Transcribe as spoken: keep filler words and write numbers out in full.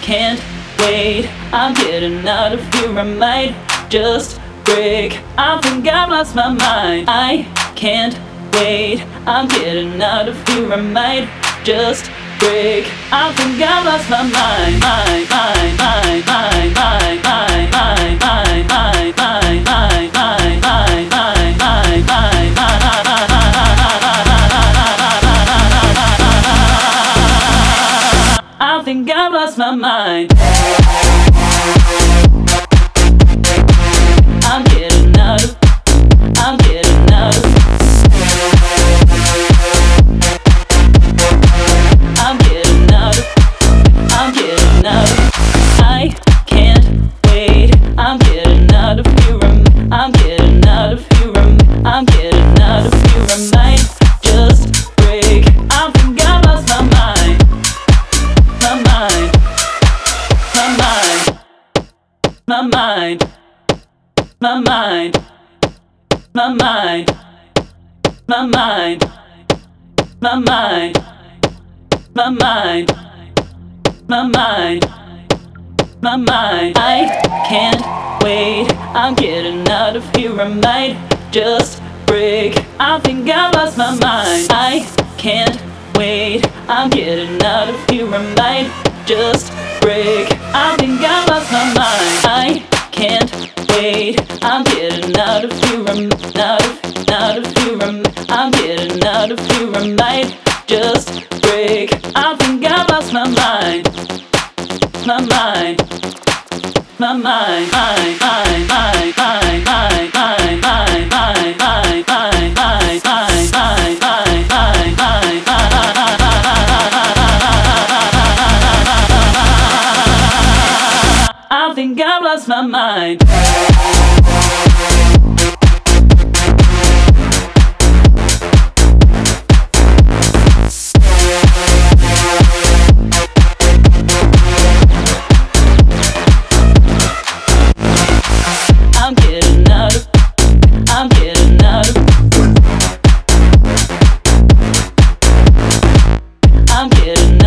can't wait, I'm getting out of here, I might just break. I think I've lost my mind. I can't wait, I'm getting out of here, I might just break. I think I've lost my mind. Mind, mind, mind, mind, mind, mind, mind, mind, mind, mind, mind, mind, mind, mind, mind, mind, mind, I think I've lost my mind. I'm getting out of, I'm getting out of, I'm getting out of, I'm getting out of, I can't wait, I'm getting out of here, I'm getting out of here, I'm getting out of here, I might just break. I think I lost my mind, my mind, my mind, my mind, my mind, my mind, my mind, my mind, my mind, my mind, my mind. I can't wait, I'm getting out of here, I might just break. I think I lost my mind. I can't wait, I'm getting out of here, I might just break. I think I lost my mind. I can't wait, I'm getting out of here, I'm out of, out of here, I'm, I'm getting out of here, I might just break. I think I lost my mind, my mind, my mind, mind, mind, mind, mind, mind, mind, mind, mind, mind, mind, mind, mind, mind, mind, mind, mind, I think I've lost my mind. I'm getting out of, I'm getting out of, I'm getting